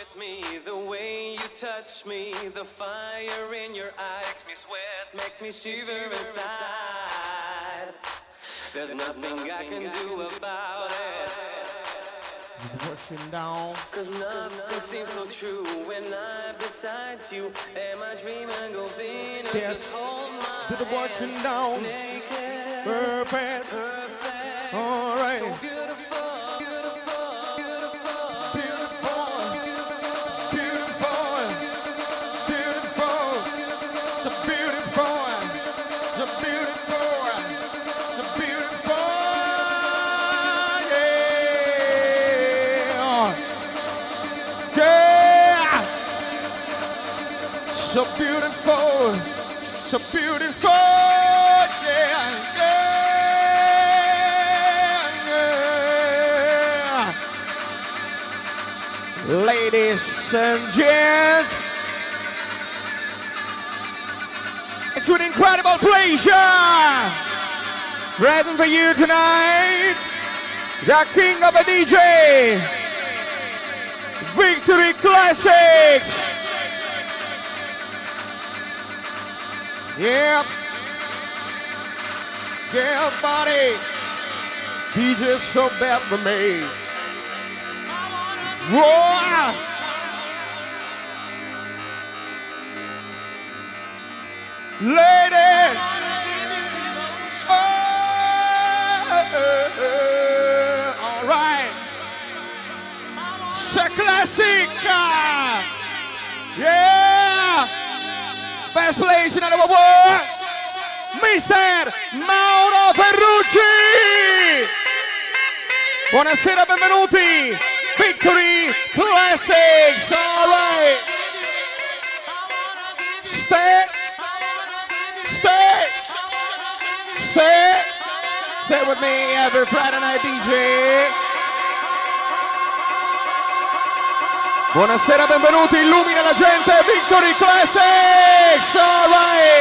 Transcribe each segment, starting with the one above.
me, the way you touch me, the fire in your eyes makes me sweat, makes me shiver inside. There's nothing I can do about it. Pushing down. Cause nothing seems so true when I'm beside you. And my dream and go thin and just hold my to the pushing down. Naked, perfect. All right. So beautiful. So beautiful, so beautiful, yeah, yeah, yeah. Ladies and gents, it's an incredible pleasure present for you tonight, the king of a DJ, Victory Classics. Yeah, yeah, buddy. DJ's so bad for me. Whoa! Ladies! All right. It's a classic. Yeah! Best place in the world, Mr. Mauro Ferrucci. Buonasera, benvenuti. Victory Classics. All right. Stay with me every Friday night, DJ. Buonasera, benvenuti, illumina la gente, Victory Classics, all right.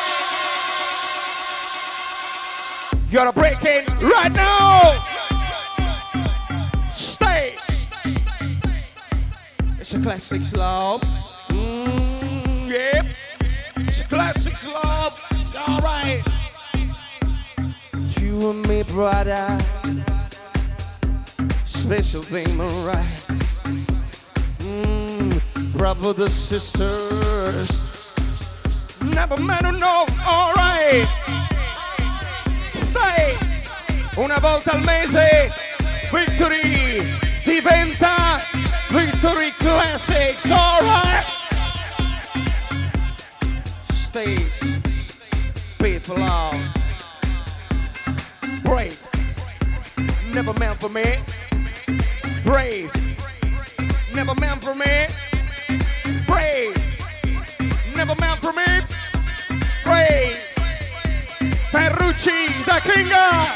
You're breaking right now. Stay. It's a classics love. Yep. It's a classics love. All right. You and me, brother. Special thing, all right. Brothers, sisters, never met or no, all right. Stay. Una volta al mese, Victory diventa Victory Classics, all right. Stay. People are brave, never meant for me. Brave, never meant for me. Brave, never meant for me. Brave, Ferrucci, the king.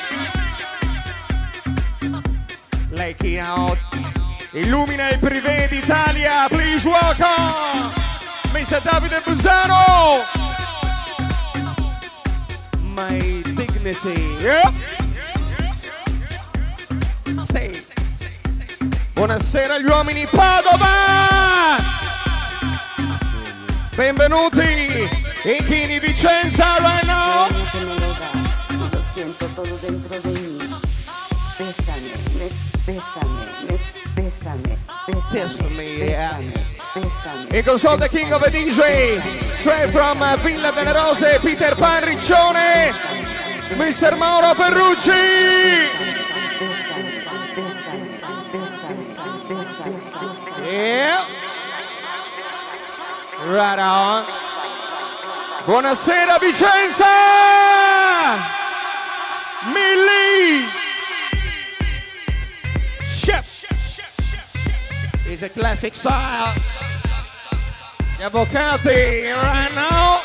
Lei out, illumina il privé d'Italia. Please welcome Mr. Davide Busano. My dignity. Yep. Stay. Buonasera agli uomini Padova. Benvenuti in Chini Vicenza right now. Lo siento todo dentro de mí. Bésame, bésame, bésame. In console the king of a DJ, straight from Villa delle Rose, Peter Pan Riccione, Mr. Mauro Ferrucci. Yeah. Right on. Buonasera Vicenza! Millie! Chef! It's a classic style. Gli avvocati right now.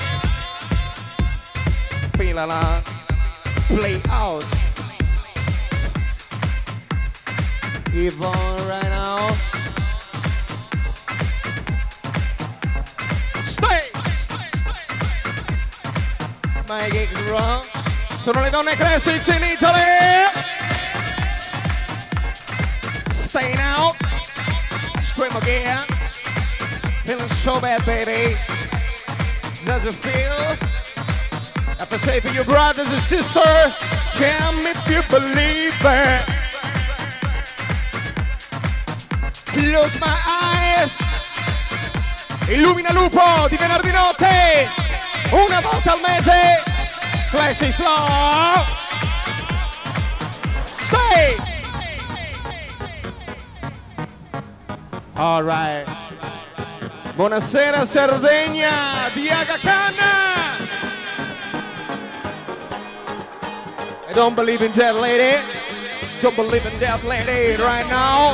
Pilala. Play out. Yvonne right now. My gig's wrong. Sono le donne classics in Italy. Stay now. them again. Feeling so bad, baby. Does it feel? Have to say for your brothers and sisters, jam if you believe it. Close my eyes. Illumina Lupo di venerdì notte. Una volta al mese. Classic slow. Stay. All right. Buonasera Sardegna di Aga Khan. I don't believe in that lady. Don't believe in that lady right now.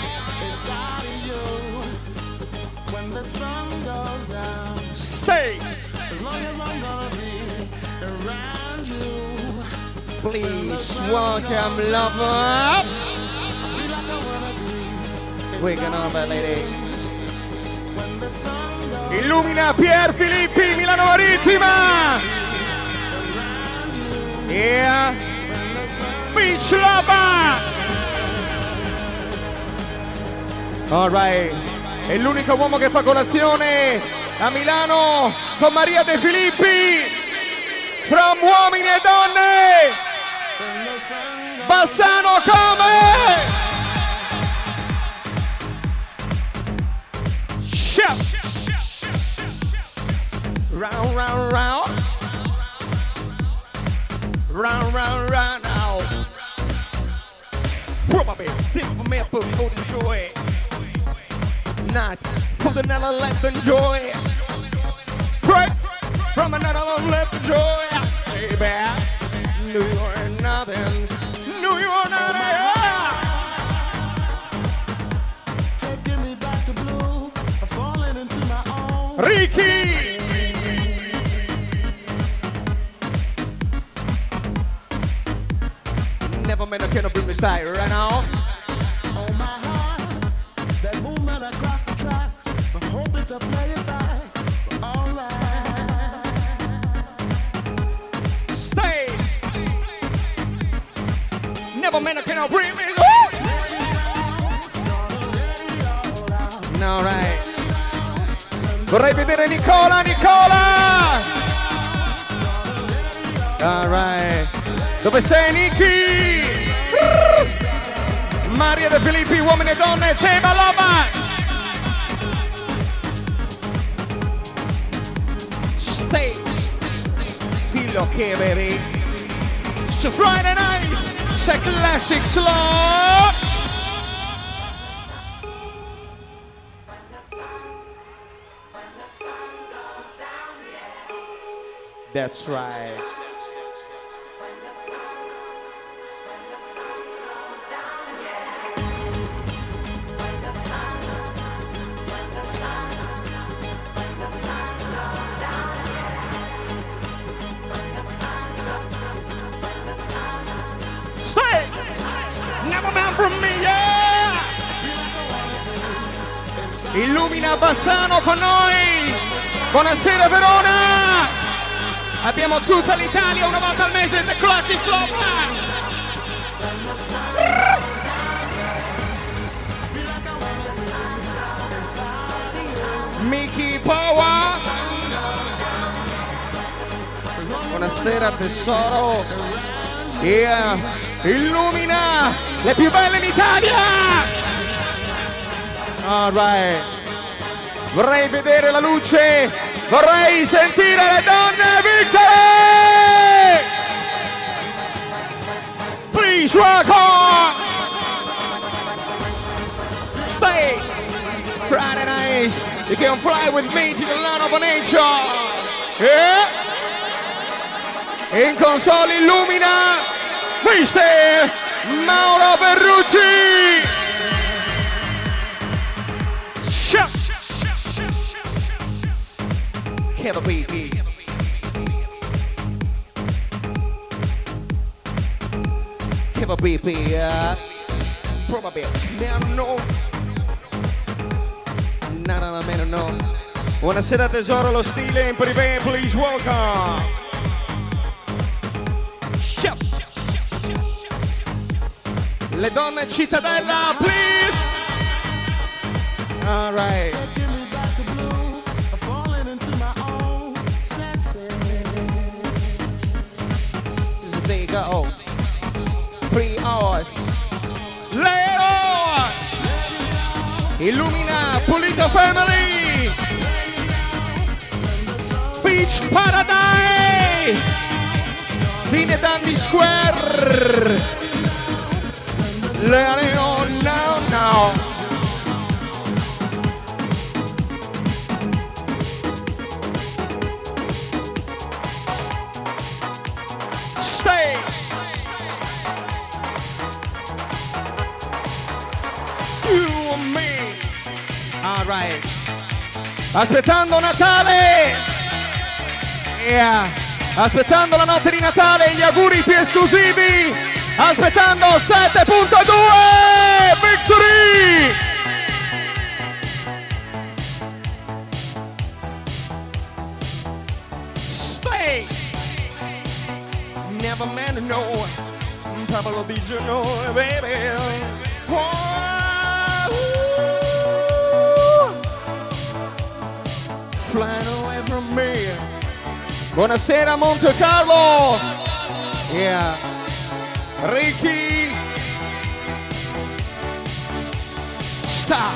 Stay. Please welcome lover. Waking up, lady. Illumina Pier Filippi, Milano Marittima. Yeah. Beach lover. All right. È l'unico uomo che fa colazione a Milano con Maria De Filippi. From uomini e donne. Bassano come? Chef. Round, round, round. Round, round, round now. Probably think of me for enjoy. Not for the another left enjoy. Pray from another left enjoy. Baby, knew you were nothing. Knew you were nothing. Taking me back to blue. Falling into my own. Ricky. Never meant I cannot bring me side right now. On my heart, that movement across the tracks. I'm hoping to play it back. All right. Stay. Never meant I cannot bring me. All right. Vorrei vedere Nicola. All right. Dove sei, Nicky? Maria De Filippi, uomini e donne, tema Loma. Stay. Dillo che veri. It's Friday night. It's a classic slow. That's right. Stay! Never man from me, yeah! Illumina Bassano con noi! Buonasera Verona! Abbiamo tutta l'Italia una volta al mese The Classic Slow. Mickey Power. Buonasera tesoro. Yeah. Illumina le più belle in Italia. All right. Vorrei vedere la luce, vorrei sentire le donne vittime. Please rock on. Stay. Friday night, you can fly with me to the land of nature. Yeah. In console illumina Mr. Mauro Ferrucci. Have a baby. Have a baby. Probably. No. No. Buonasera tesoro, lo stile in privé, please welcome. Chef. Le donne cittadella, please. All right. Taking me back to blue, falling into my own senses. There you go. 3 hours. Leo! Illumina Pulito Family! Beach Paradise! Fine Dandy Square! Leo, no. Stay! You and me. All right. Aspettando Natale. Yeah. Aspettando la notte di Natale, gli auguri più esclusivi. Aspettando 7.2 Victory. Stay. Never meant to know. Pablo Biggio, baby. Flying away from me. Buonasera Monte Carlo. Yeah. Ricky. Stop.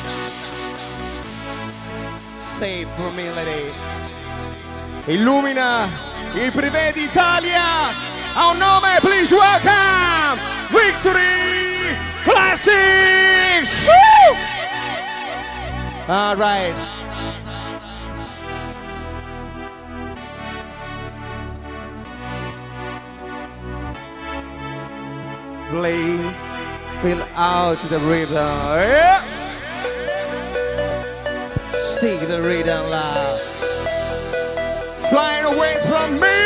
Save for me, lady. Illumina il privé d'Italia. A un nome, please welcome Victory Classics. Woo! All right. Play, fill out the rhythm. Yeah. Stick the rhythm loud. Flying away from me.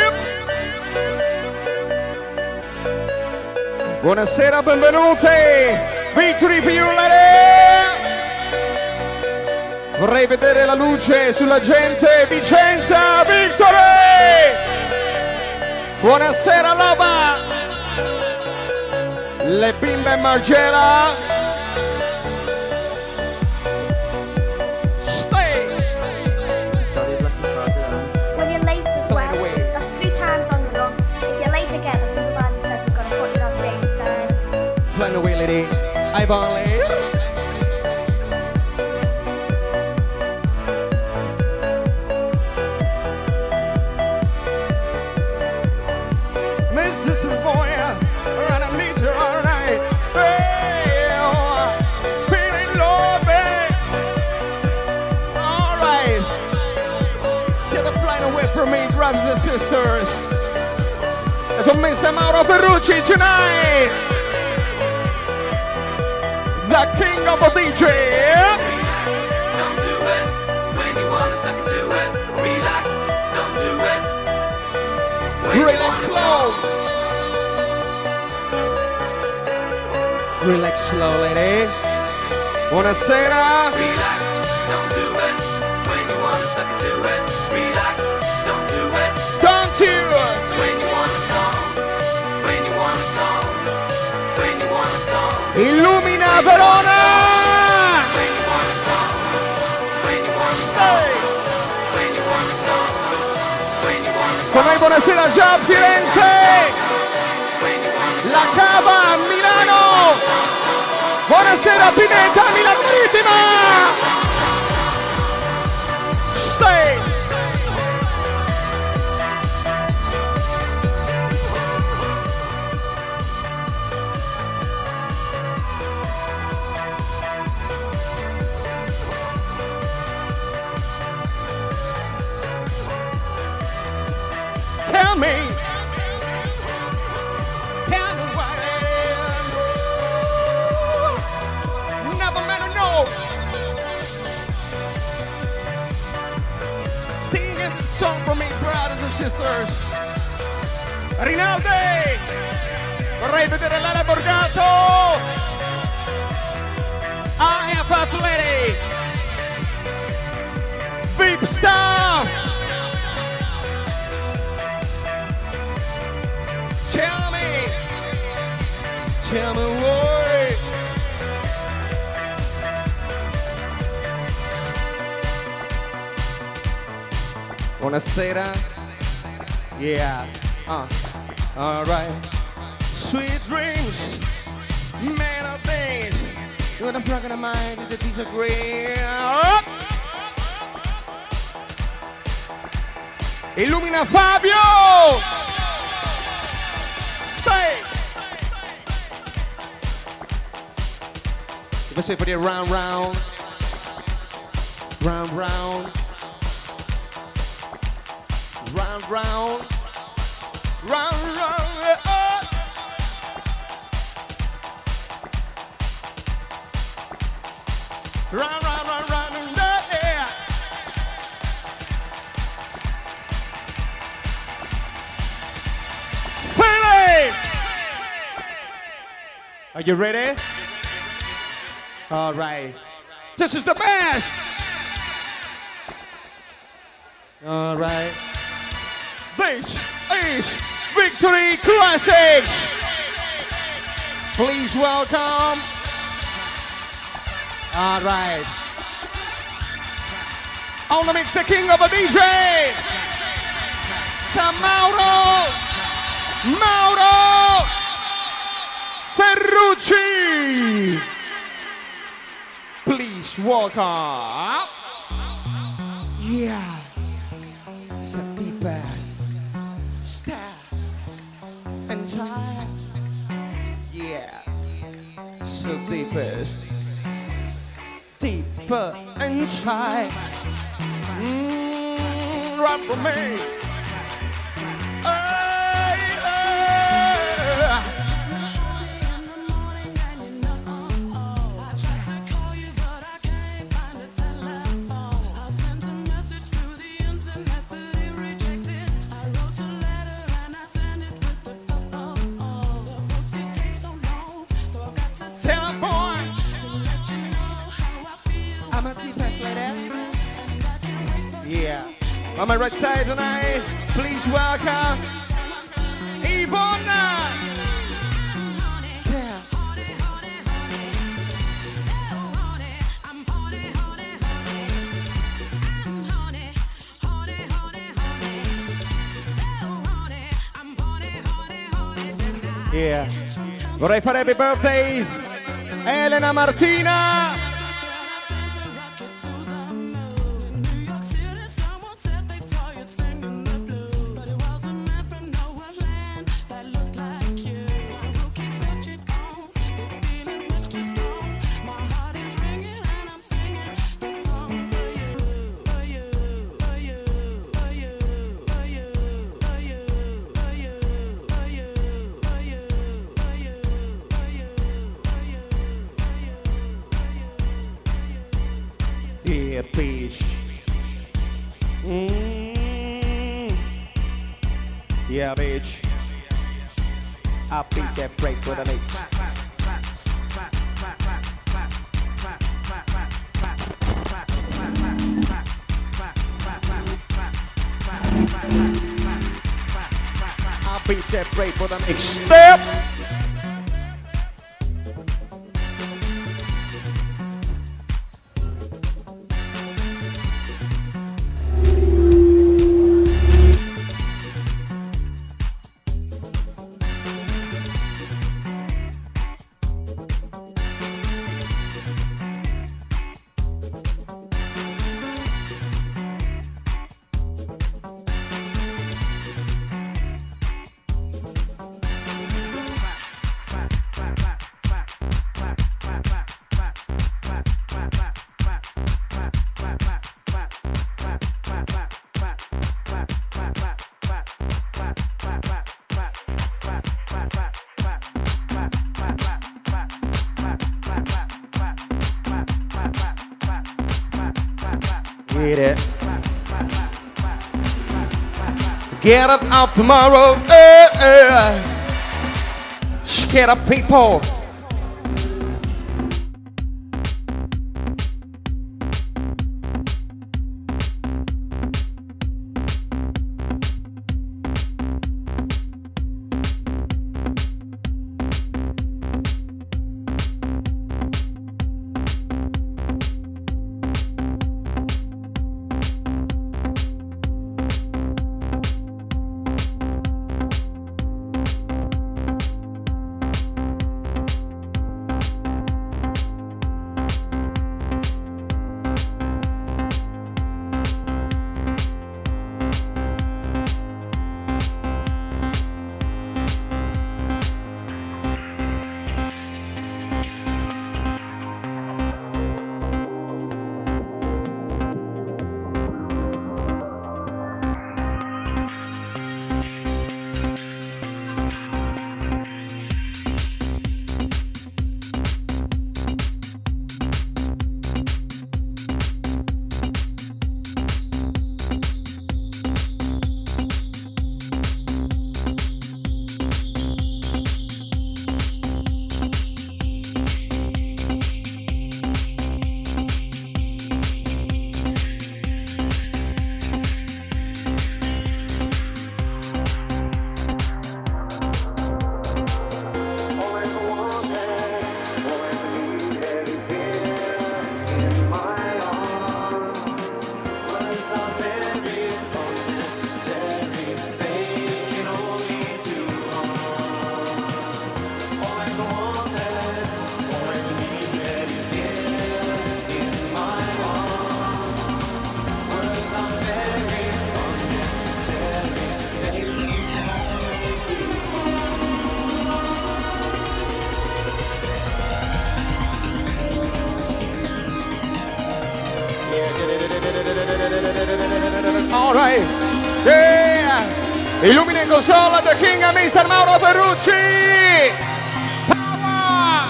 Buonasera, benvenuti. Victory for you, lady. Vorrei vedere la luce sulla gente. Vicenza, Victory. Buonasera, Loba. Le bimbe Margera. Stay. When you're late as well, that's 3 times on the run. If you're late again, the supervisor says we're going to put you on James then. Flying away, lady. Ivan Lee. Mrs. Voyas. And I need you all night. Hey, oh, feeling low, babe. All right. Siete flying away from me, brothers and sisters. It's a Mr. Mauro Ferrucci tonight. The king of the DJ. Don't do it when you wanna suck into it. Relax, don't do it. When you Relax wanna slow. Relax slow, lady. Buonasera. Relax, don't do it when you wanna suck into it. Relax, don't do it Don't you? when you wanna go. When you wanna go. When you wanna go. Illumina Verona. When you wanna go. When you wanna go. Stay. When you wanna go. When you wanna go. Con noi buonasera già Firenze. When you wanna La Cava a Milano. Buonasera Pineta, Milano Marittima. Stay. Tell me what it is. Never meant to know. Sing a song for me, brothers and sisters. Rinaldi, vorrei vedere Lara Borgato. I am Athletic. Veep Star. Tell me why. Buonasera. Yeah. All right. Sweet dreams, man of things. You're the front of mind, the disagree. Illumina Fabio. Stay. Let's say for the round, round. Round, round. Round, round. Round, round. Round, round, round, round, in the air. Philly! Are you ready? All right. This is the best. All right. This is Victory Classics. Please welcome. All right. On the mix, the king of a DJ, Mauro Ferrucci. Please welcome. Yeah. It's a deep ass. Stairs and time. Yeah. So deepest. Deeper inside. Run for me. Yeah. On my right side tonight, please welcome Ivona. Yeah. Vorrei fare happy birthday Elena Martina. Yeah, bitch. Yeah, bitch. I'll beat that break with an H. I'll beat that break with an H. Step! Get it. Get up out tomorrow. Scared of people. All right. Yeah. Illumina in console the king and Mr. Mauro Ferrucci. Power.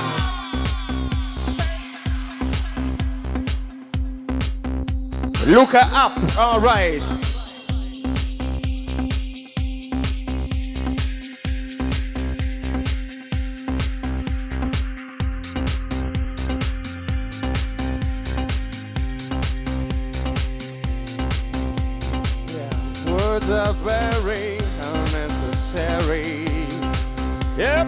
Luca up. All right. Words are very unnecessary. Yep.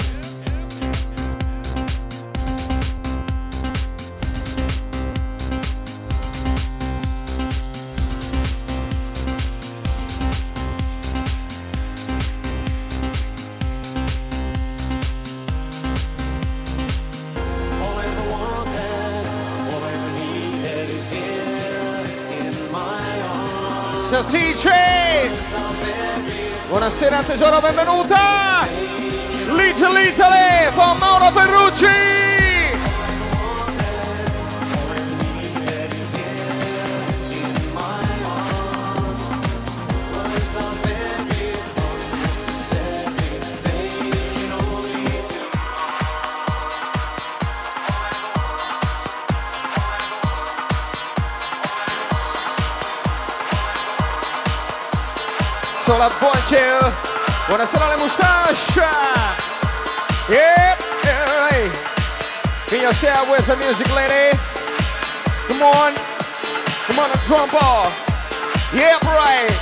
All I ever wanted, all I ever needed is here in my arms. Salsice! Buonasera tesoro, benvenuta! Little Italy con Mauro Ferrucci! Sola Bonche, buonasera alle moustache. Yep, hey. Can you share with the music lady? Come on, a drum ball. Yep, right.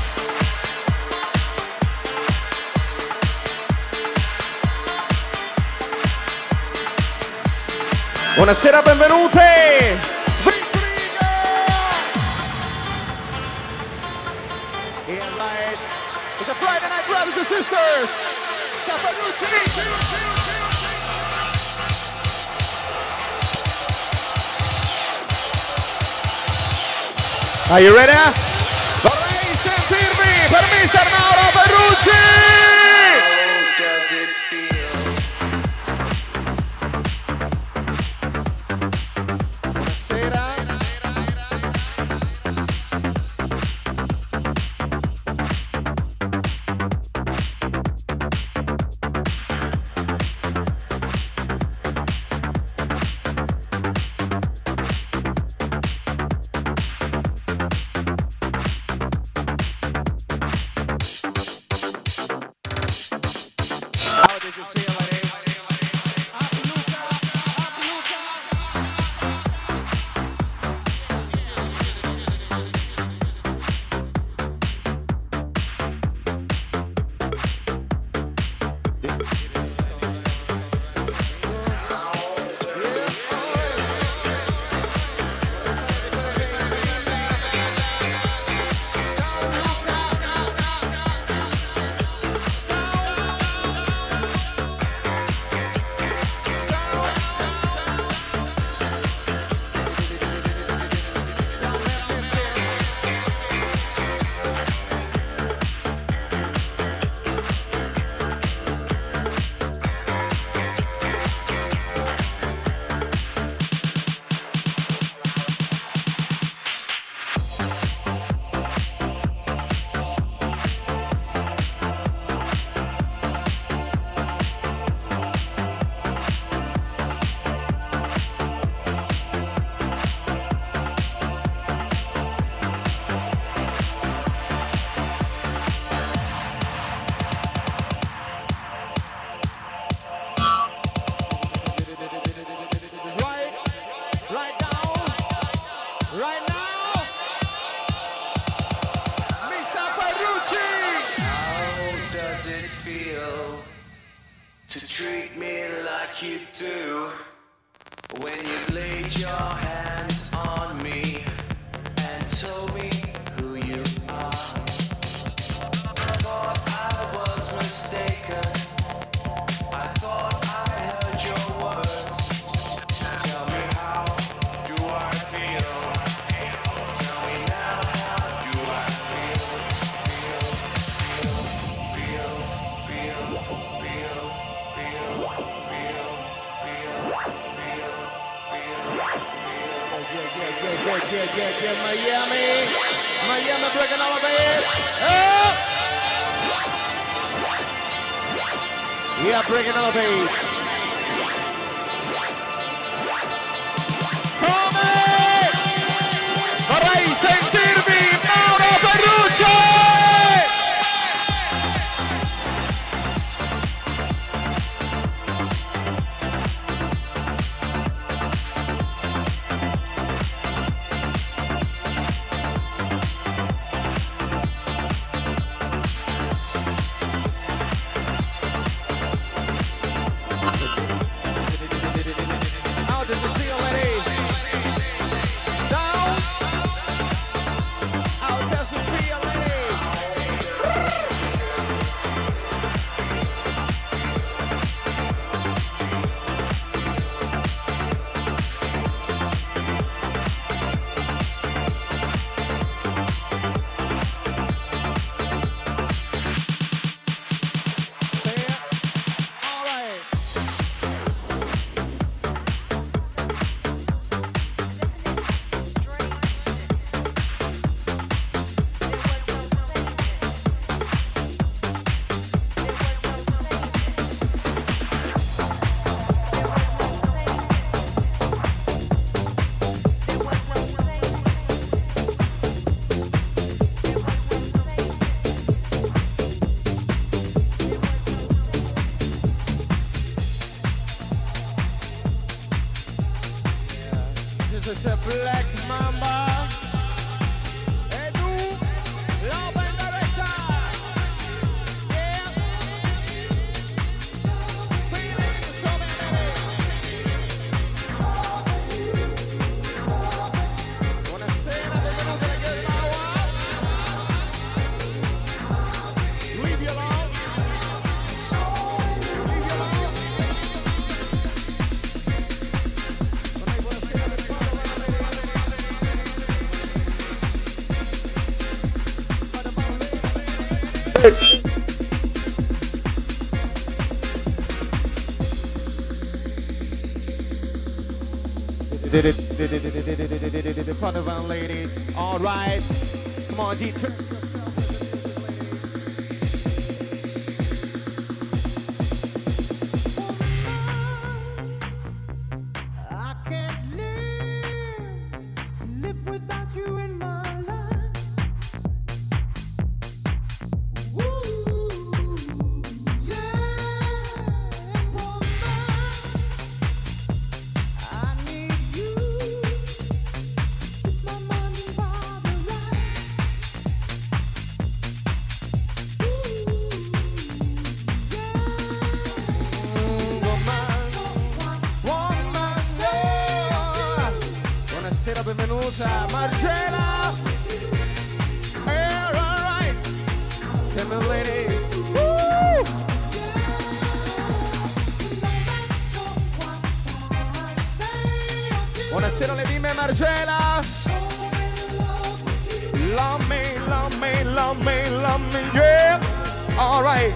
Buonasera, benvenute. It's a Friday night, brothers and sisters. Are you ready? Vorrei sentirvi per Mr. Mauro Ferrucci! How does it feel? you do when you laid your hands on me and told me who you are. I thought I was mistaken. I thought I heard your words. Tell me, how do I feel? Tell me now, how do I Miami. Miami breaking all of it. Oh! Yeah, breaking all of it. Come! Vorrei sentirvi Mauro Ferruccio! The Padawan lady. All right. Come on, D. I can't live without you in my life. Ooh, yeah, woman, I need you. Keep my mind and body right. Buonasera, benvenuta Marcella. All right. Come on, lady. Woo! Buonasera le bimbe Marcella. Love me, love me, love me, love me, yeah. All right.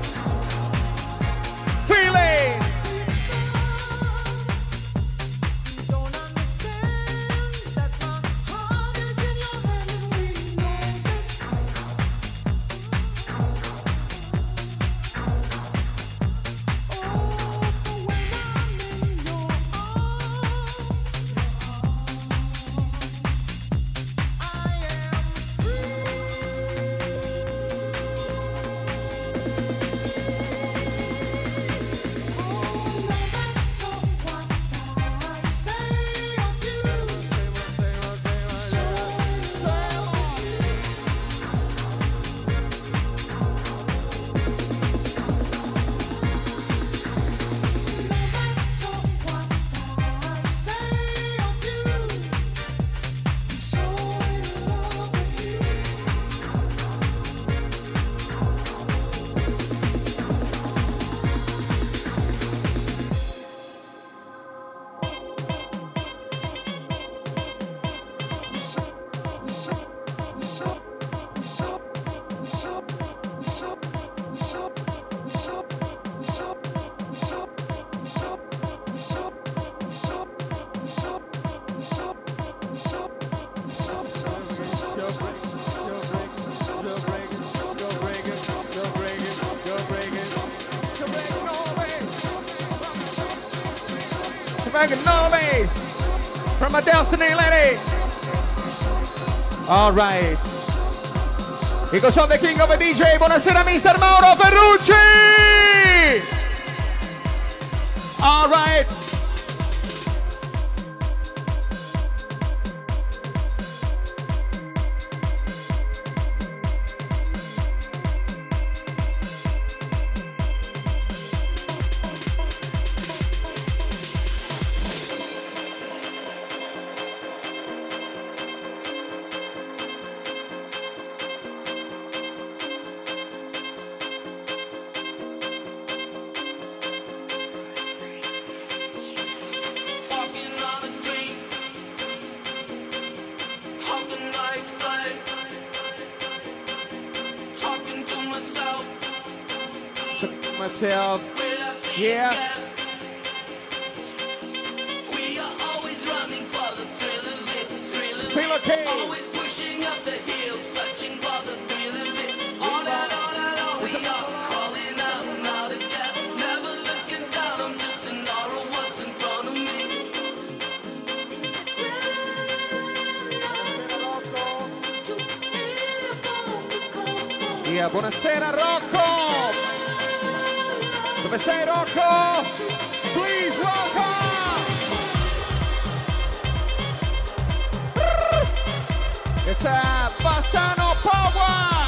Feeling. Magnolis from a Destiny lady. All right. Because of the king of a DJ. Buonasera, Mr. Mauro Ferrucci. All right. Myself, yeah. We are always running for the thrill of it, Feel okay. Always pushing up the hill, searching for the thrill of it. All along, we are calling out now to death. Never looking down, I'm just in awe of what's in front of me. Yeah, buonasera Rocco. Dove sei Rocco? Please Rocco! Questa è Bassano Power!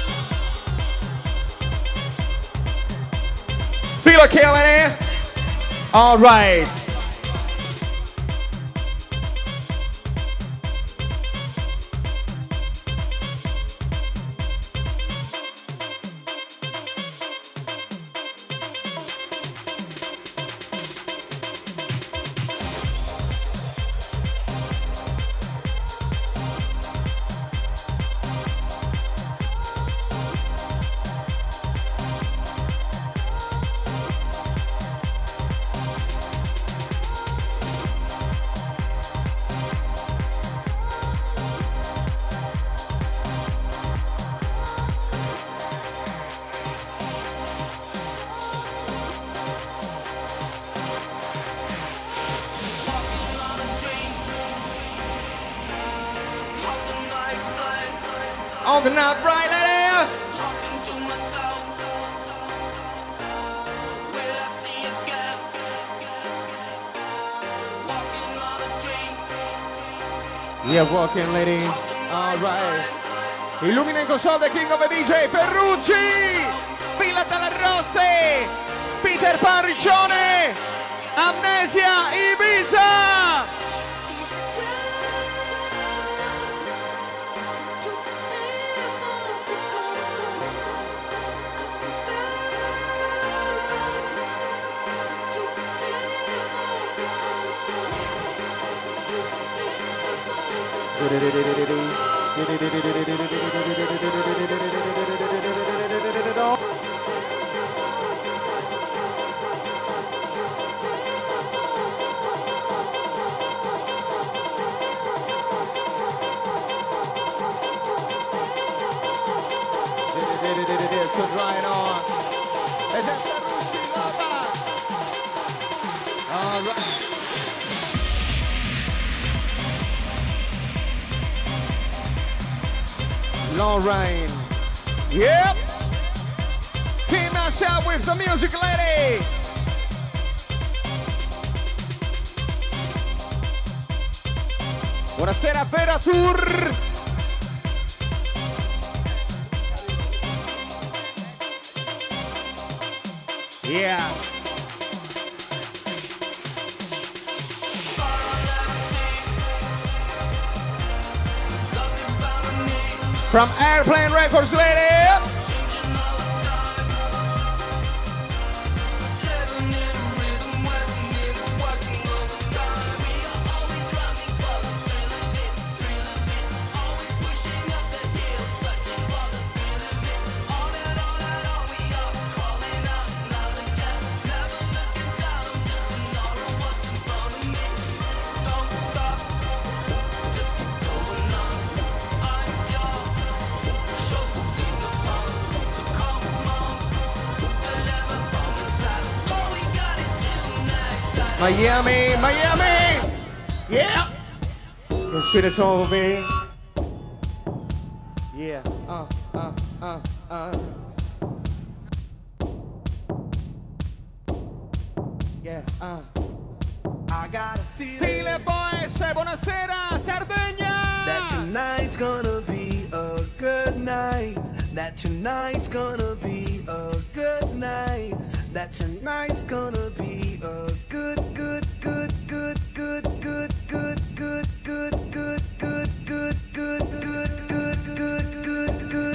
Feel it, killing it? All right. On the night right there. Talking to myself, will I see again? Walking on a dream. Yeah, walking lady. All right. Illumina in console the king of a DJ, Ferrucci. Pila Dalla Rosse. Peter Pan Riccione. Amnesia Ibiza. So right on. All right. Lorraine. Yep. Came us out with the music lady. Buonasera Vera Tour. Yeah. From Airplane Records, lady. Miami, Miami. Yeah. The sweetest over me. Yeah. Yeah. I got a feeling File boys, buonasera, Sardegna. that tonight's gonna be a good night. That tonight's gonna be a good night. That tonight's gonna be a good, good, good, good, good, good, good, good, good, good, good, good, good, good, good, good,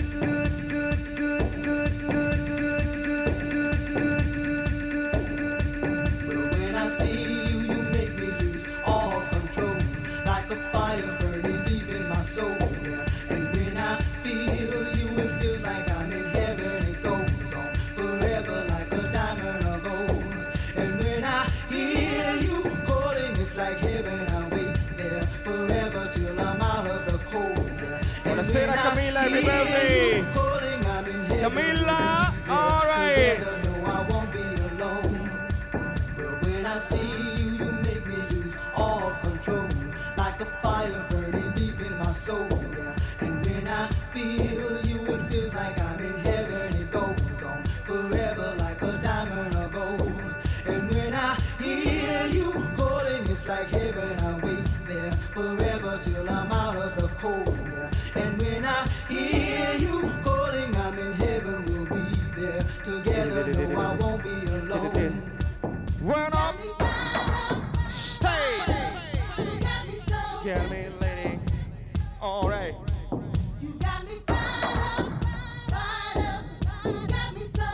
When I see you, you make me lose all control, like a fire burning deep in my soul. And when I feel you, it feels like I'm in heaven. It goes on forever like a diamond of gold. And when I hear you calling, it's like heaven. I wait there forever till I'm out of the cold. And Buonasera, Camilla, happy birthday. calling, I'm in heaven. Camilla, all right. Together, no, I won't be alone. But when I see you, you make me lose all control, like a fire burning deep in my soul. Yeah. And when I feel you, it feels like I'm in heaven. It goes on forever like a diamond of gold. And when I hear you calling, it's like heaven. I wait there forever till I'm out of the cold. Yeah. And when I hear you calling, I'm in heaven. We'll be there together. No, I won't be alone. Run up. Stay. Get me, lady. All right. You got me fired up, you got me so,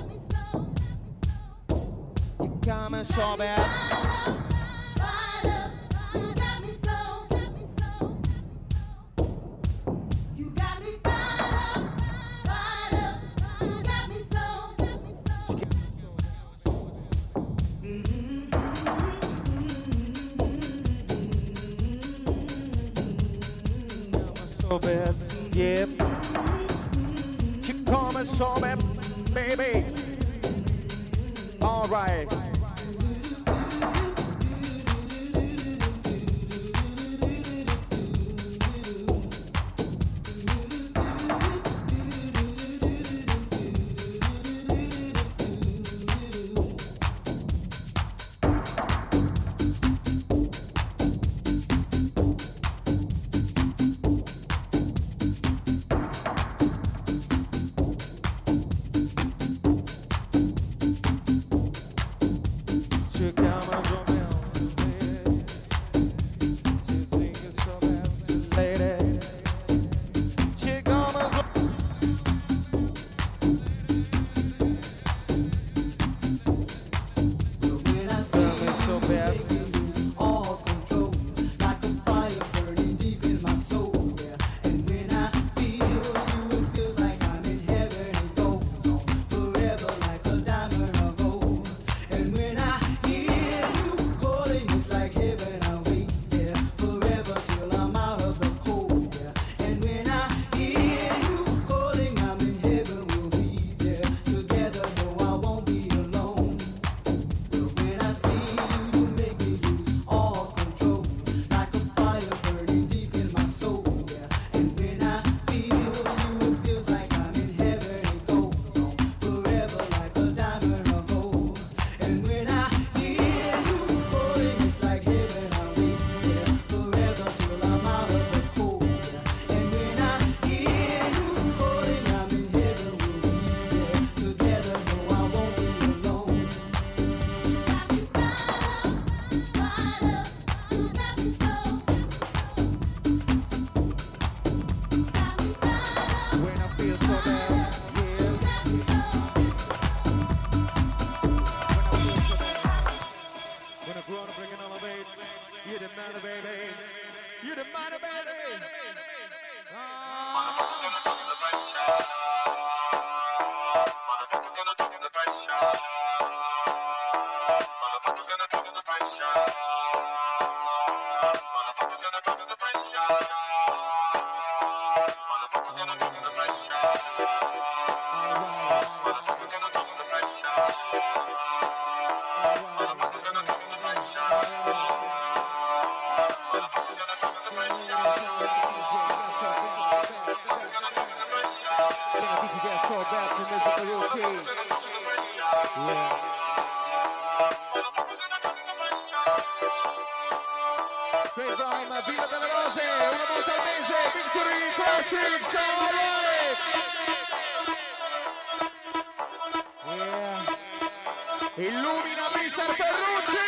You got me so bad. fired up, you got me so, you got me fired up, you got me so, So bad. Yep. You call me so bad, baby. All right. classics, alright. Yeah. Illumina Mr. Ferrucci.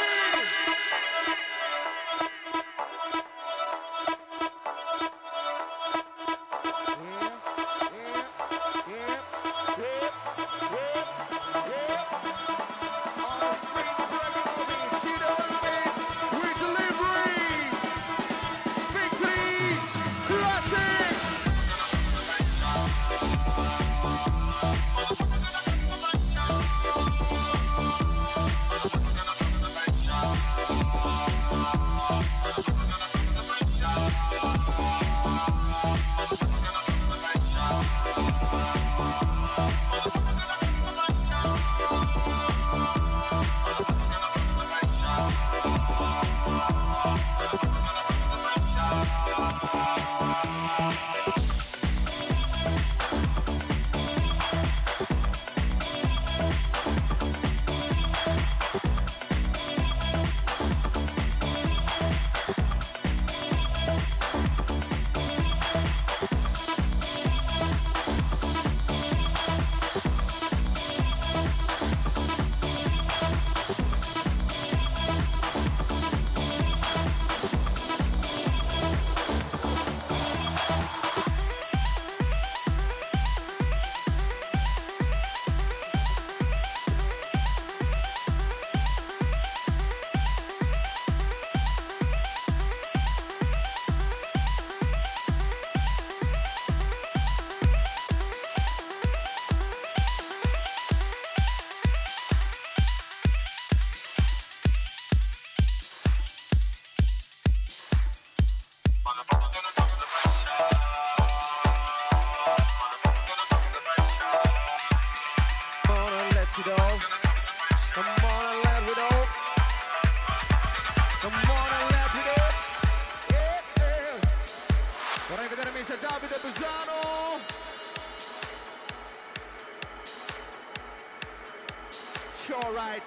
Sure, right.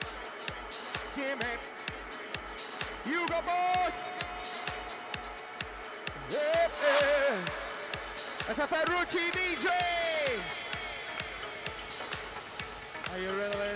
Give it. You go, boss. Yeah, yeah. That's a Ferrucci DJ. Are you ready, lady?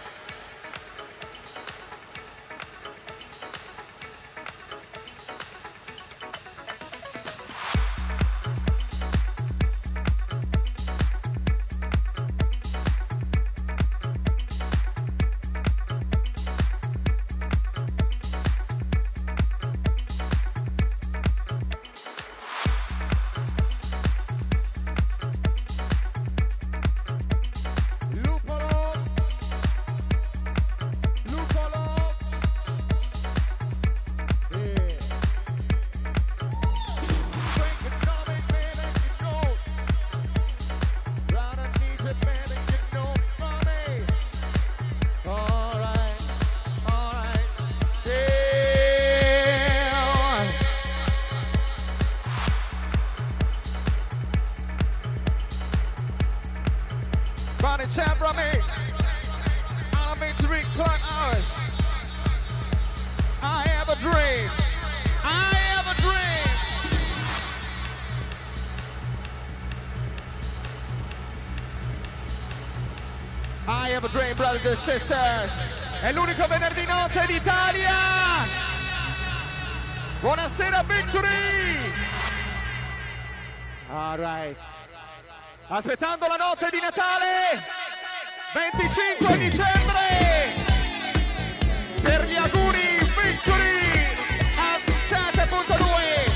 Brothers and sisters, è l'unico venerdì notte d'Italia. Buonasera Victory. All right. Aspettando la notte di Natale 25 dicembre per gli auguri Victory a 7.2.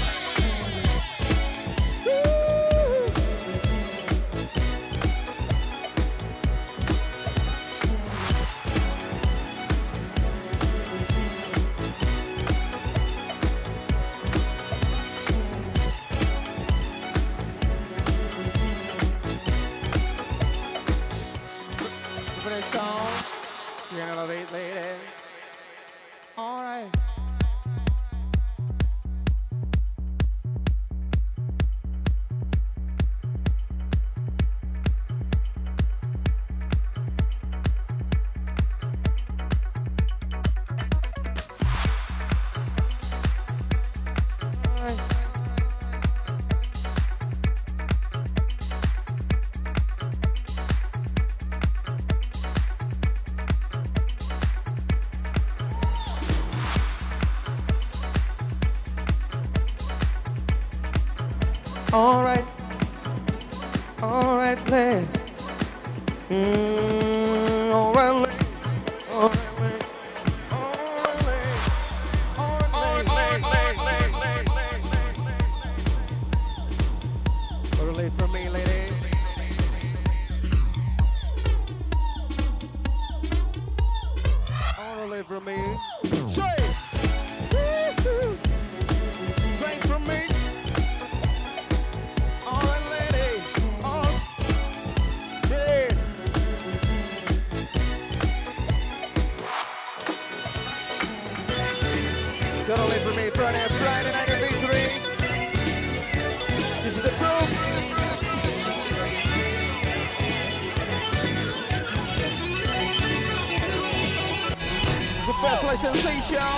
Alright, alright, lady. Alright, lady. Late for me, lady. All late for me. Say, drink from me. All right, lady. All yeah. Gonna late for me Friday night at V3. This is the proof. Best like sensation.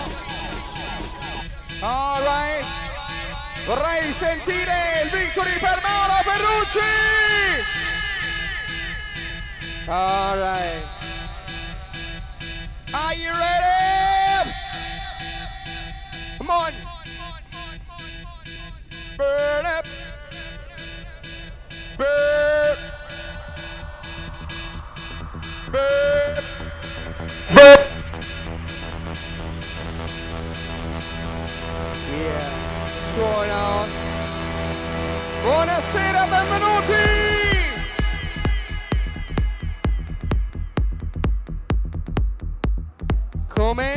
All right. Vorrei sentire il Victory per Mauro Ferrucci. All right. Are you ready? Come on. Burn up. Burn. Burn. Burn. Suona. Buonasera, benvenuti! Come?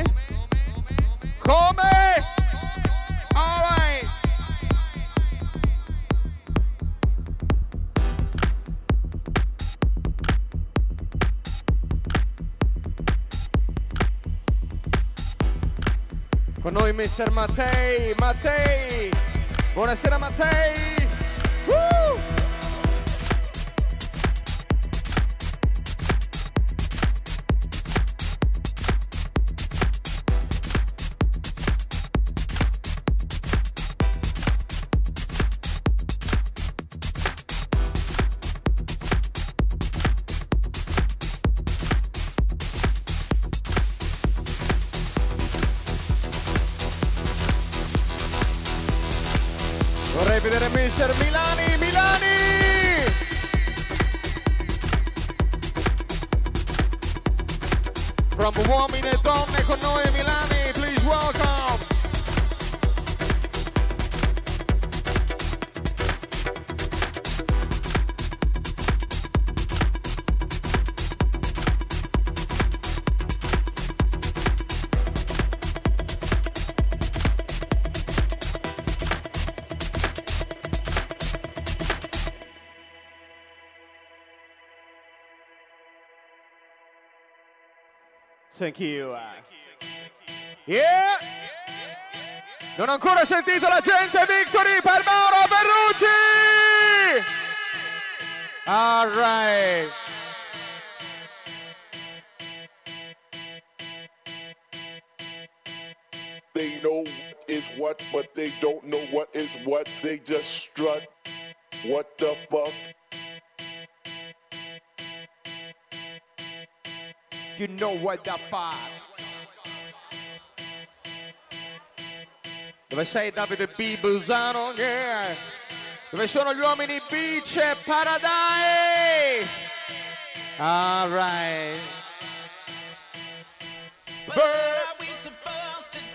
Come? All right. Con noi Mr. Mattei, Mattei! Buonasera Mattei! Woo! Vorrei vedere Mr. Milani, Milani! From uomini e donne con noi Milani, please welcome! Thank you. Yeah! Non ho ancora sentito la gente, Victory per Mauro Ferrucci! All right. They know is what, but they don't know what is what. They just strut. What the fuck? You know what the fuck. Dove sei Davide B. Busano? Yeah. Dove sono gli uomini Beach e Paradise? All right. What are we supposed to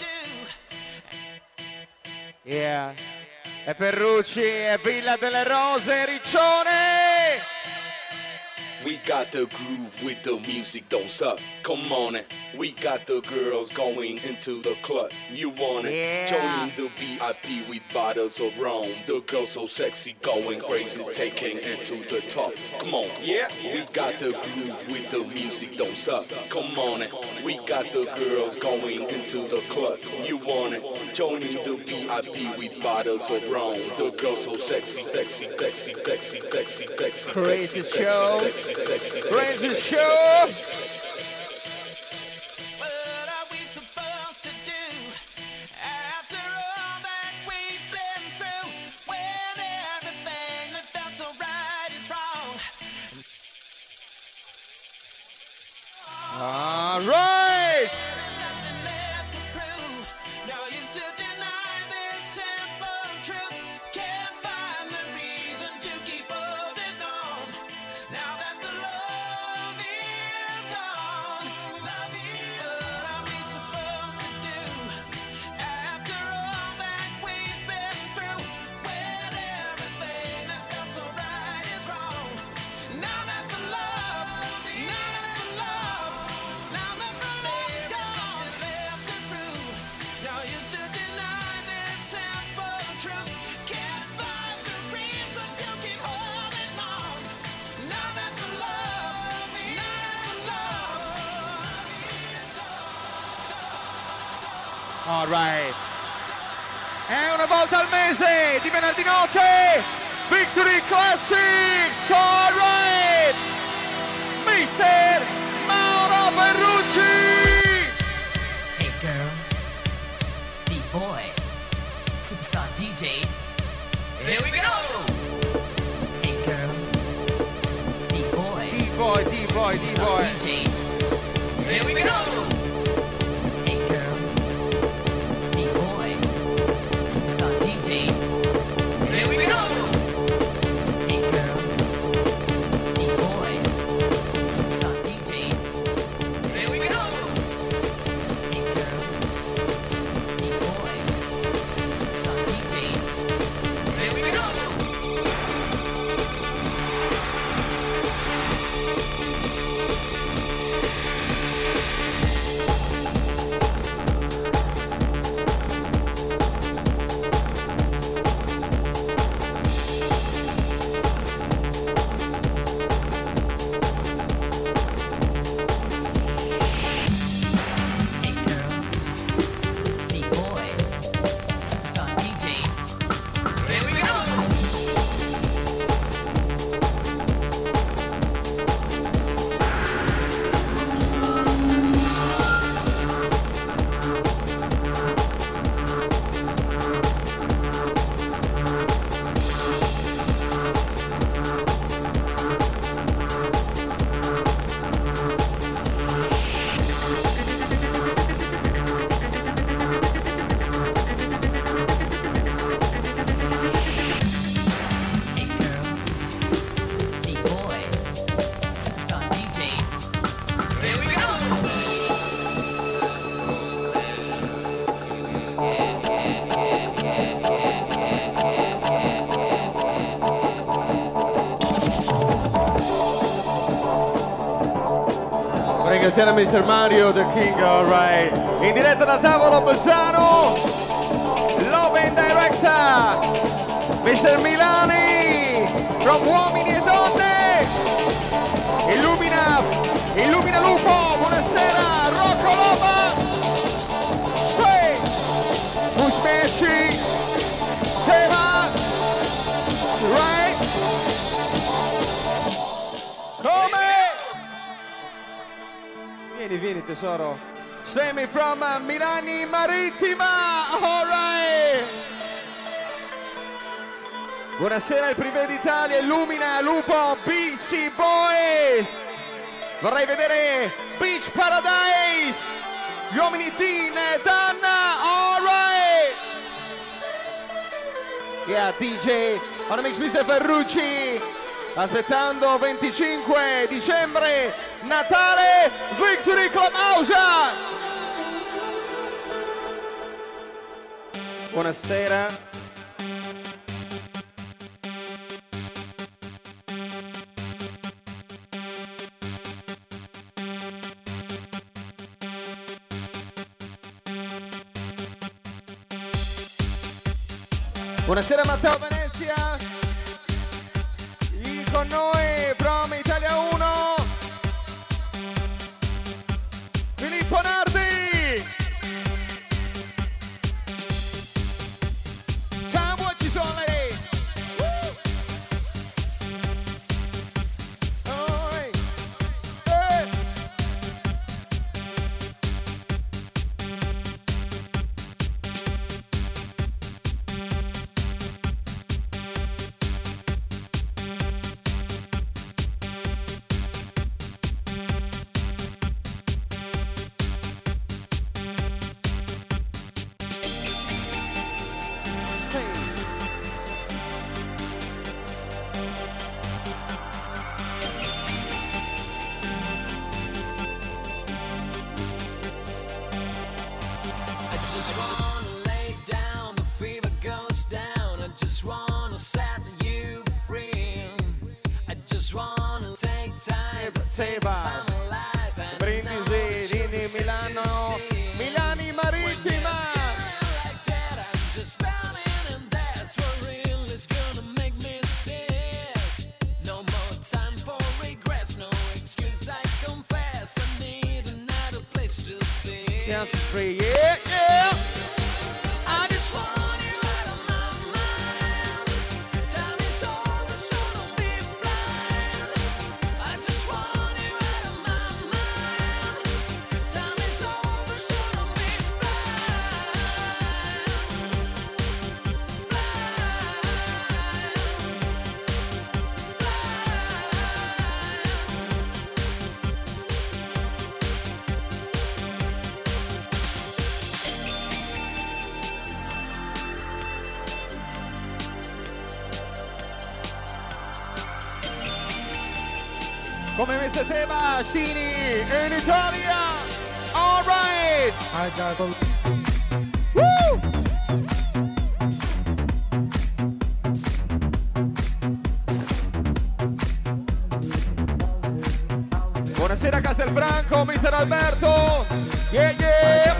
do? Yeah. E Ferrucci e Villa delle Rose, Riccione. We got the groove with the music, don't suck. Come on it. We got the girls going into the club. You want it? Yeah. Joining the VIP with bottles of rum. The girls so sexy, going crazy, taking it to the top. Come on, yeah. We got the groove with the music, don't suck. Come on it. We got the girls going into the club. You want it? Joining the VIP with bottles of rum. The girls so sexy, sexy, sexy, sexy, sexy, sexy. Crazy sexy, show. sexy, sexy, sexy, Crazy sexy, show. What are we supposed to do after all that we've been through? When everything that felt so right is wrong. All right. There's nothing left to prove. No use to deny this simple truth. Can't find the Alright. E una volta al mese, di venerdì notte, Victory Classics. Alright. Mister Mauro Ferrucci. Hey girls, B-boys, superstar DJs. Here we go. Hey girls, B-boys, D-boy, D-boy, D-boy. DJs. Here we go. Hey girls, B-boys, superstar DJs. Here we go. Hey girls, B-boys, superstar DJs. Here we go. Hey girls, B-boys, superstar DJs. Here we go. Hey girls, B-boys, superstar DJs. Here we go. Hey girls, B-boys, superstar DJs. Here we go. Vorrei ringraziare Mr. Mario, The King, alright. In diretta da tavolo Bassano, Love and Director, Mr. Milani, from Uomini e Donne. Illumina Lupo, buonasera, Rocco Loma. Stay, Musmesci, Tema, right? Come? Vieni tesoro. Semi from Milani Marittima. Alright. Buonasera il Privé d'Italia, Illumina Lupo, BC Boys. Vorrei vedere Beach Paradise. Gli uomini Dean e Danna. Alright. Yeah, DJ on the mix Mr. Ferrucci. Aspettando 25 dicembre, Natale, Victory Clubhouse. Buonasera. Buonasera Matteo Venezia. Con noi from Italia 1 Filippo Nardi. Ciao, ci sono lei. Brindisi, Rini, Milano, Milani Marittima. Free, yeah, yeah. Come Mr. Tema Sini in Italia. All right. I got the... Woo! Buonasera Castelfranco, Mr. Alberto. Yeah, yeah.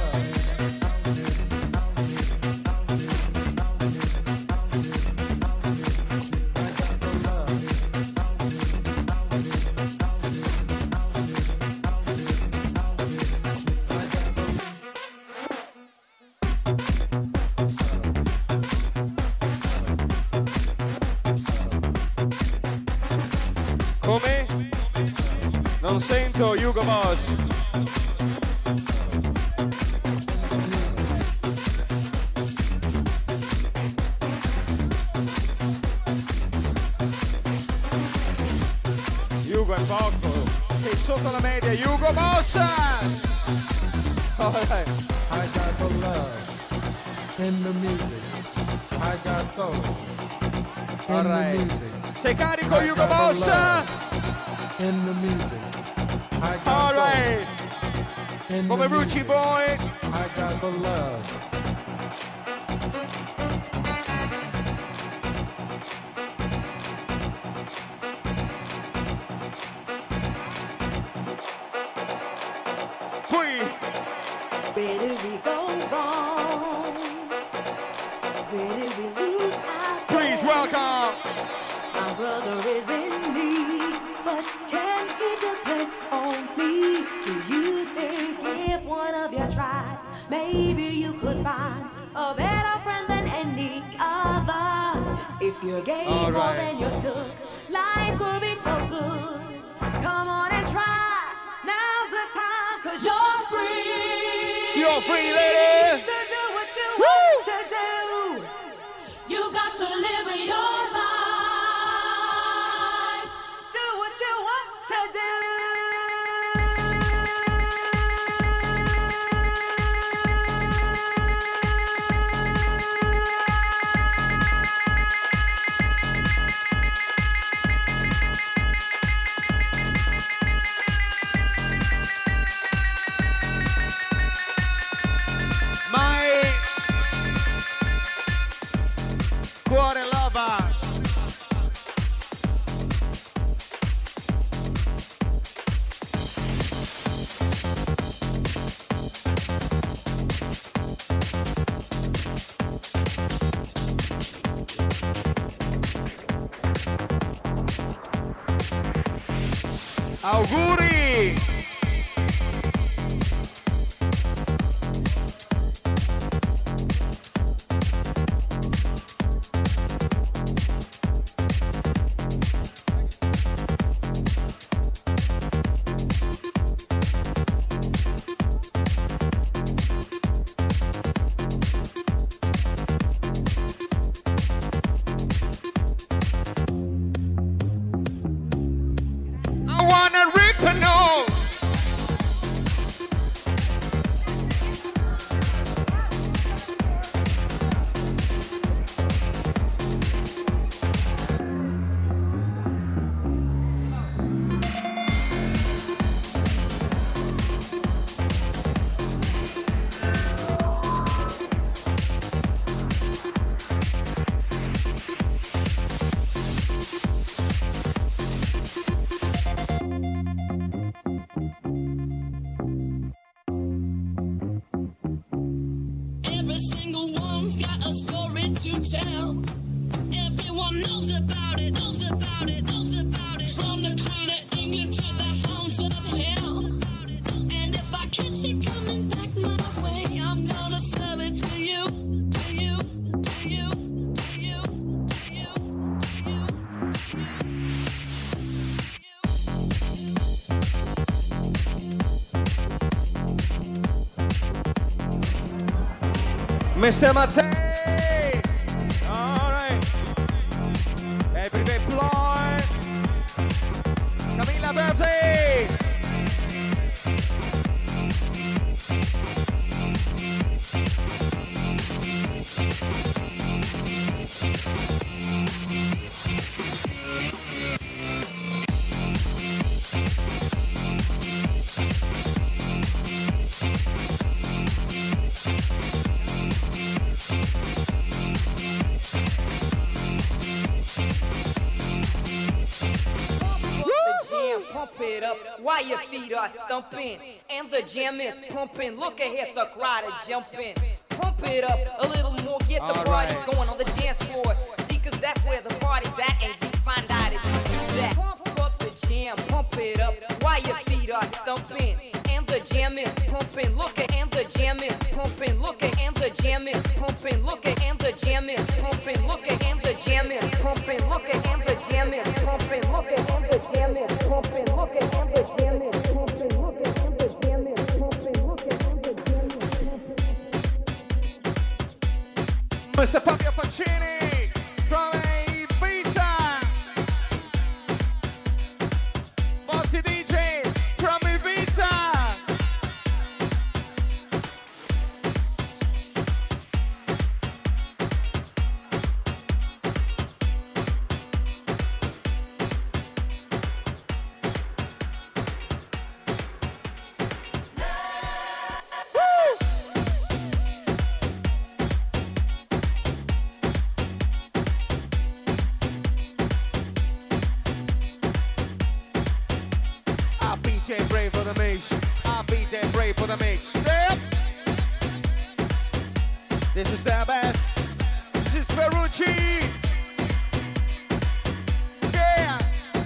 Come? Non sento Hugo Boss. Hugo è poco. Sei sotto la media, Hugo Boss! Right. I got the love in the music. I got soul in the music. Sei carico, Hugo Boss? In the music. I got All soul. right. In Come the Rucci music. Boy. I got the love. Qui. Where did we go wrong? Where did we lose our Please welcome. My brother is in need, but can he depend on me? Do you think if one of you tried, maybe you could find a better friend than any other? If you gave All more right. than you took, life could be so good. Come on and try. Now's the time, 'cause you're free. You're free, lady. To do what you want to do. You got to live your life. Do what you want to do. My cuore lava. Auguri! I wanna rip the nose. Every single one's got a story to tell. Everyone knows about it, knows about it, knows about it. From the crown of England to the hounds of hell. And if I catch it coming back my way, I'm gonna serve it to you, to you, to you, to you, to you, to you. Mr. Mattei! Alright. Everyday Floyd. Camilla birthday! pump it up while your feet are stumping. And the jam is pumping. Look ahead, the crowd is jumping. Pump it up a little more, get the party going on the dance floor. See, cause that's where the party's at, and you find out if you do that. Pump up the jam, pump it up while your feet are stumping. And the jam is pumping. Look at, and the jam is pumping. Look at, and the jam is pumping. Look at, and the jam is pumping. Look at, and the jam is pumping. Look at, and the jam is pumping. Look at, and the jam is pumping. Look at, and the jam is pumping. Look at, and the jam is pumping. Look at, and the jam is pumping. Mr. Fabio Pacini from Ibiza. Mozzi DJ from Ibiza. I'll be brave for the mix. I'll be that brave for the mix. Yep. This is the best. This is Ferrucci. Yeah.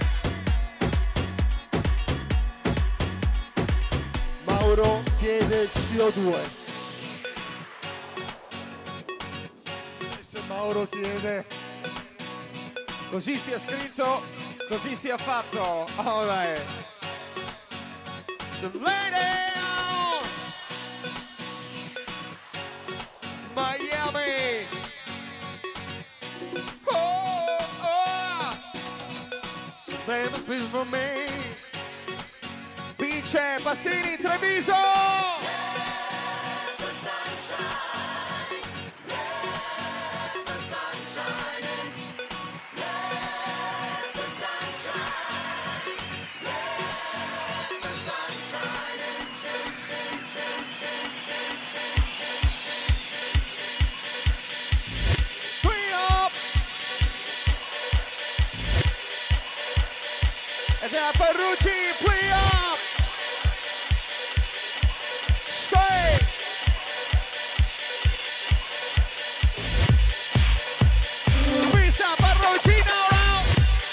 Mauro chiede CO2. Se Mauro chiede. Così sia scritto, così sia fatto. All right. So lay down, Miami. Oh, oh. Baby, please for me. Vince Passini, Treviso. Ferrucci, play up! Stay! Pista Ferrucci now round!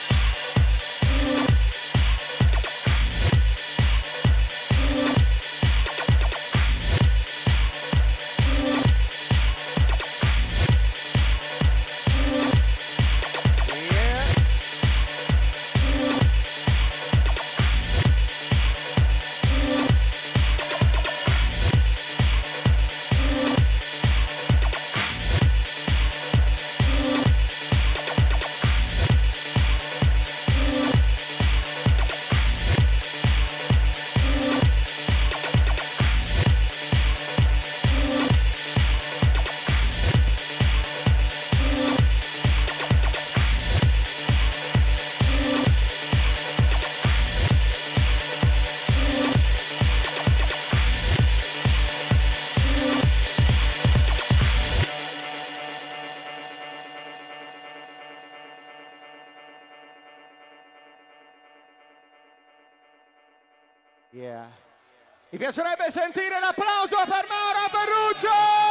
Yeah. Mi piacerebbe sentire l'applauso per Mauro Ferrucci!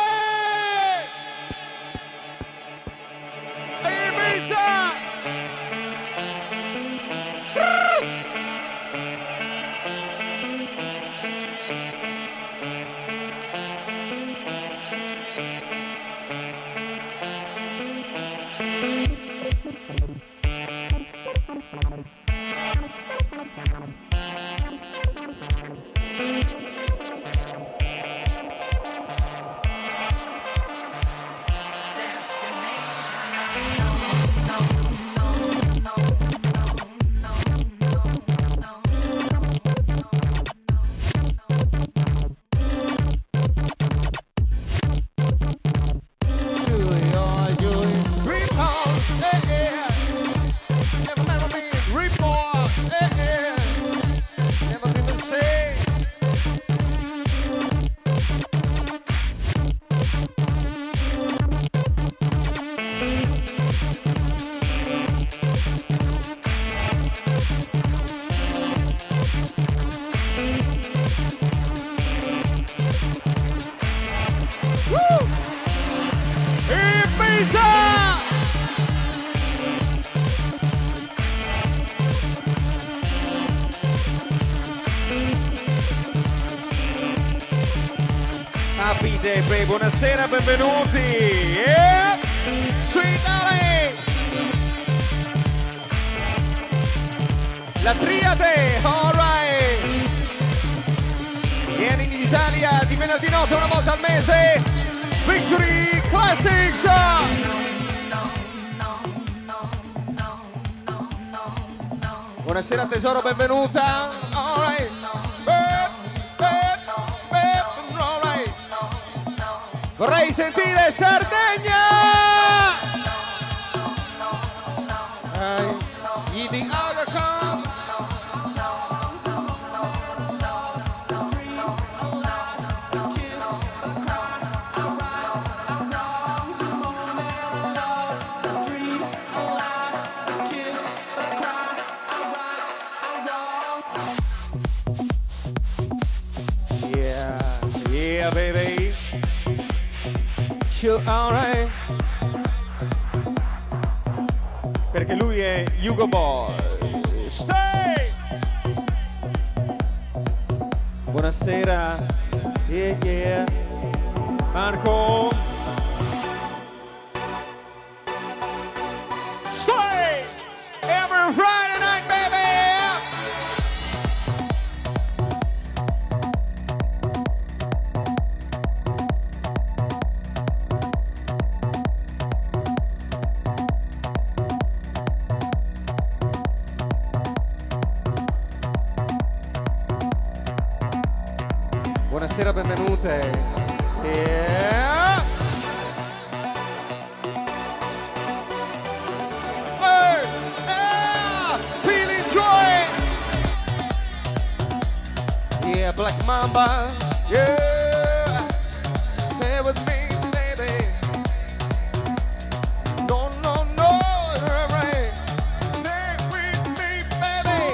Ibiza! capite? Beh, buonasera, benvenuti. Yeah. Sweet Alley. La triade, alright. Vieni in Italia di venerdì notte una volta al mese. Victory Classics. Buonasera tesoro, benvenuta. Alright. Alright. Vorrei sentire Sardegna. The other come. Yeah, baby. Chill, alright. Perché lui è Hugo Boy. Stay! Buonasera. Yeah, yeah. Marco. Stay! Every Friday night, baby! Buonasera, benvenute. Yeah. Hey, yeah. Feeling joy. Yeah, Black Mamba. Yeah. Stay with me, baby. No, no, no. Right. Stay with me, baby.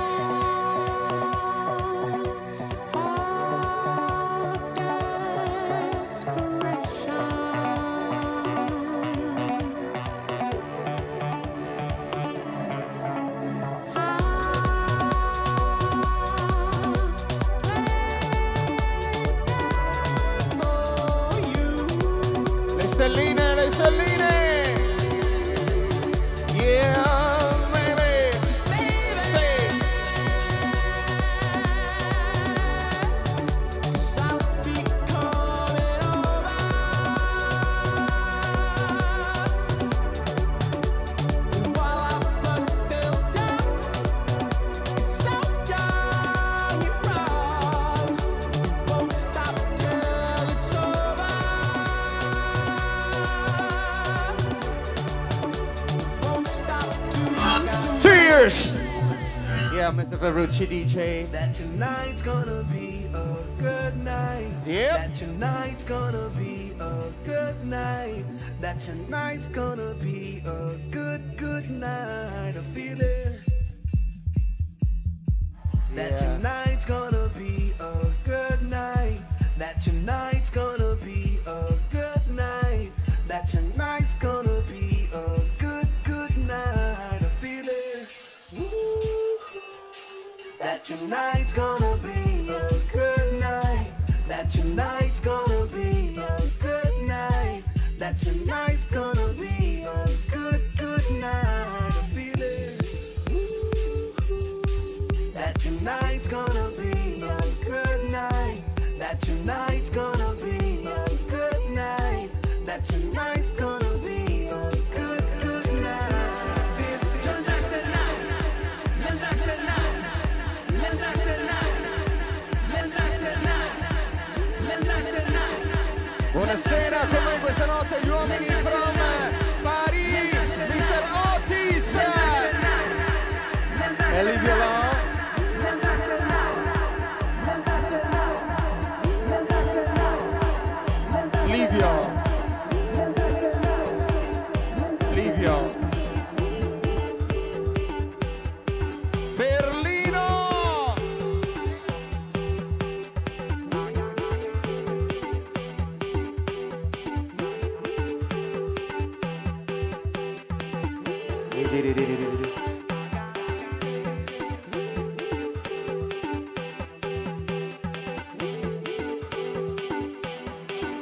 Le stelline. Yeah, baby. Stay. Cheers! Yeah, Mr. Ferrucci DJ. That tonight's gonna be a good night. Yep. That tonight's gonna be a good night. That tonight's gonna be a good night. I feel it. That tonight's gonna be a good night. That tonight's gonna be a good night. That tonight's gonna be a good night. I feel it. Woo. That tonight's gonna be a good night. That tonight's gonna be a good night. That tonight's gonna be a good night. I feel it. Woo. That tonight's gonna be a good night. That tonight's gonna be a good night. That tonight's gonna be a good night. Tonight's the night. Tonight's the night. Tonight's the night. Tonight's the night. Tonight's the night. Buonasera, con noi questa notte gli uomini from Paris, Mr. Otis e Livio Law. Livio. Berlino.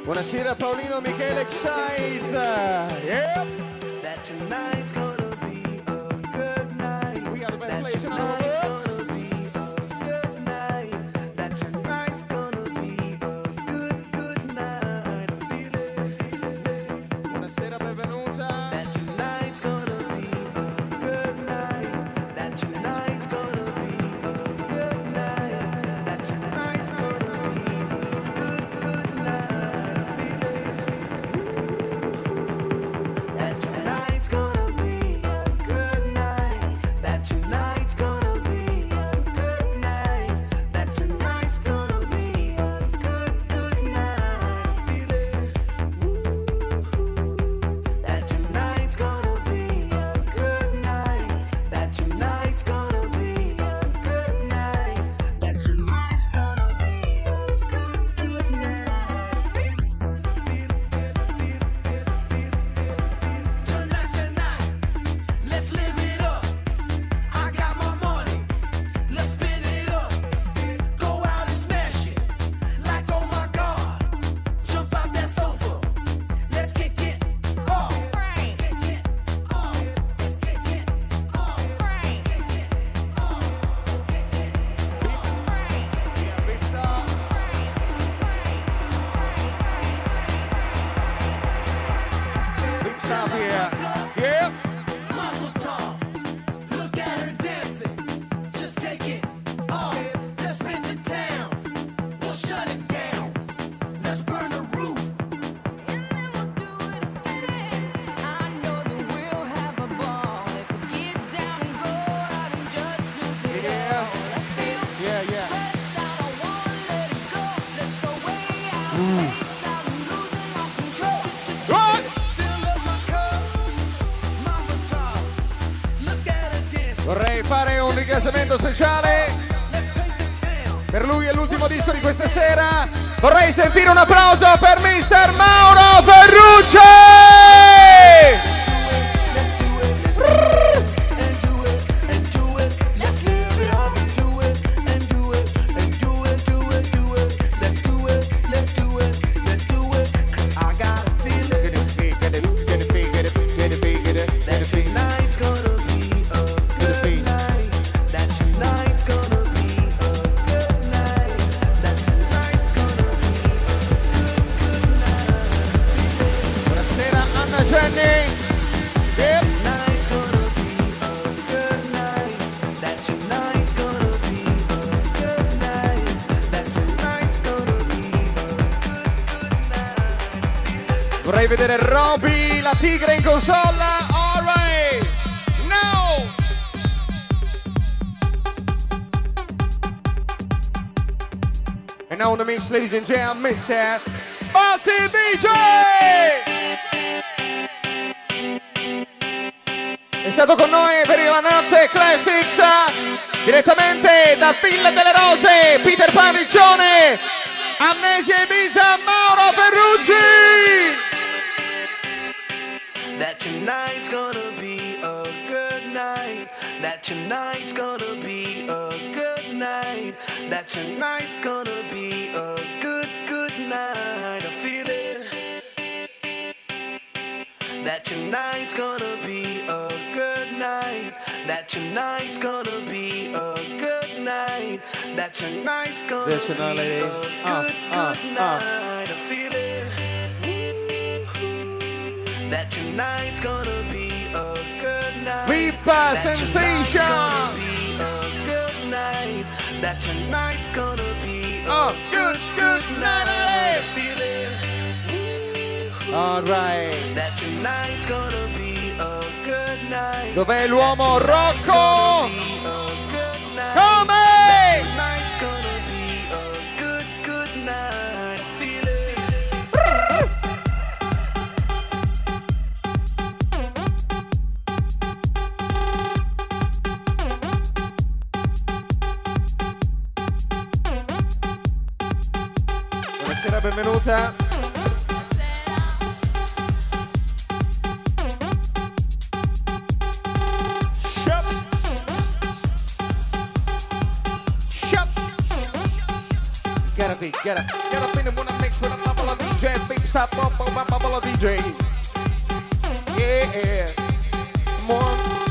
Buonasera Paolino, Michele Excite. Yeah. That tonight's gonna be a good night. We got the best That place in the tonight's world. gonna be a good night. That tonight's gonna be a good night. I feel it. Buonasera, benvenuta. That tonight's gonna be a good night. That tonight's gonna be a good night. That tonight's gonna be a good night. I feel it. That tonight's gonna be a good night. That tonight's gonna be a good night. That tonight's gonna be a good night. I feel it. That tonight's gonna be a good night. That tonight's gonna be a good night. That tonight's gonna be a good night. Tonight's the night. Let's live it up. I got my money. Let's spin it up. Go out and smash it. Like oh my God. Jump out that sofa. Let's kick it off. Big stop here. Yeah. Mazel tov. Look at her dancing. Just take it off. Let's spin the town. We'll shut it down. Let's burn the roof. Yeah, yeah. Right. Vorrei fare un ringraziamento speciale per lui, è l'ultimo disco di questa sera. Vorrei sentire un applauso per Mr. Mauro Ferrucci. Let's live it up and do it and do it and do it, do it, do it. Let's do it, let's do it, let's do it. 'Cause I got a feeling that tonight's gonna be a good night. That tonight's gonna be a good night. That tonight's gonna be a good night. Buonasera Anna Jenny. Yeah. Tonight's gonna be a good night. That tonight's gonna be a good night. That tonight's gonna be a good night. Vorrei vedere Roby, la tigre in console. All right. Now. And now on the mix, ladies and gentlemen, Mr. Bazzi DJ. È stato con noi per la notte Classics, direttamente da Villa delle Rose, Peter Parriccione, Amnesia Ibiza, Mauro Ferrucci. That tonight's gonna be a good night. That tonight's gonna be a good night. That tonight's gonna be a good night. I feel it. That tonight's gonna be a good night. That tonight's gonna be a good night. That tonight's gonna be a good night. I feel it. That tonight's gonna be a good night. Viva That tonight's Sensation. gonna be a good night. That tonight's gonna be a good night. I feel it. All right. That tonight's gonna be a good night. Dov'è l'uomo Rocco? Come? Come? Tonight's gonna be a good night. I feel it. Buonasera, benvenuta. Get up in and wanna mix with a couple of DJ beeps up, bubble DJ. Yeah, more.